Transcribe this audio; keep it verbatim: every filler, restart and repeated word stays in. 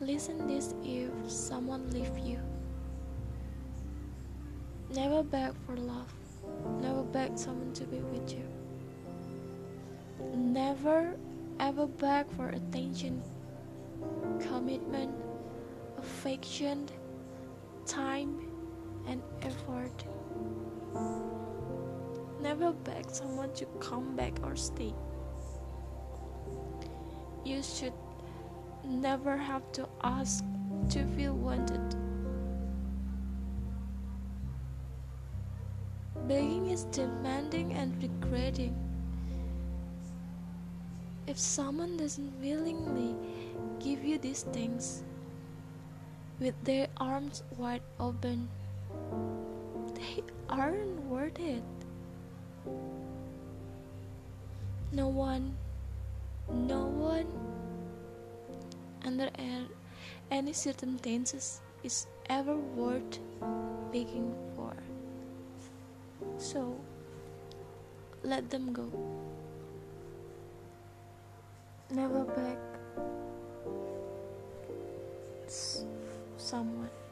Listen this if someone leave you. Never beg for love. Never beg someone to be with you. Never ever beg for attention, commitment, affection, time, and effort. Never beg someone to come back or stay. You should never have to ask to feel wanted. Begging is demanding and regretting. If someone doesn't willingly give you these things with their arms wide open, they aren't worth it. No one, no one under any circumstances is ever worth begging for. So, let them go. Never beg s- someone.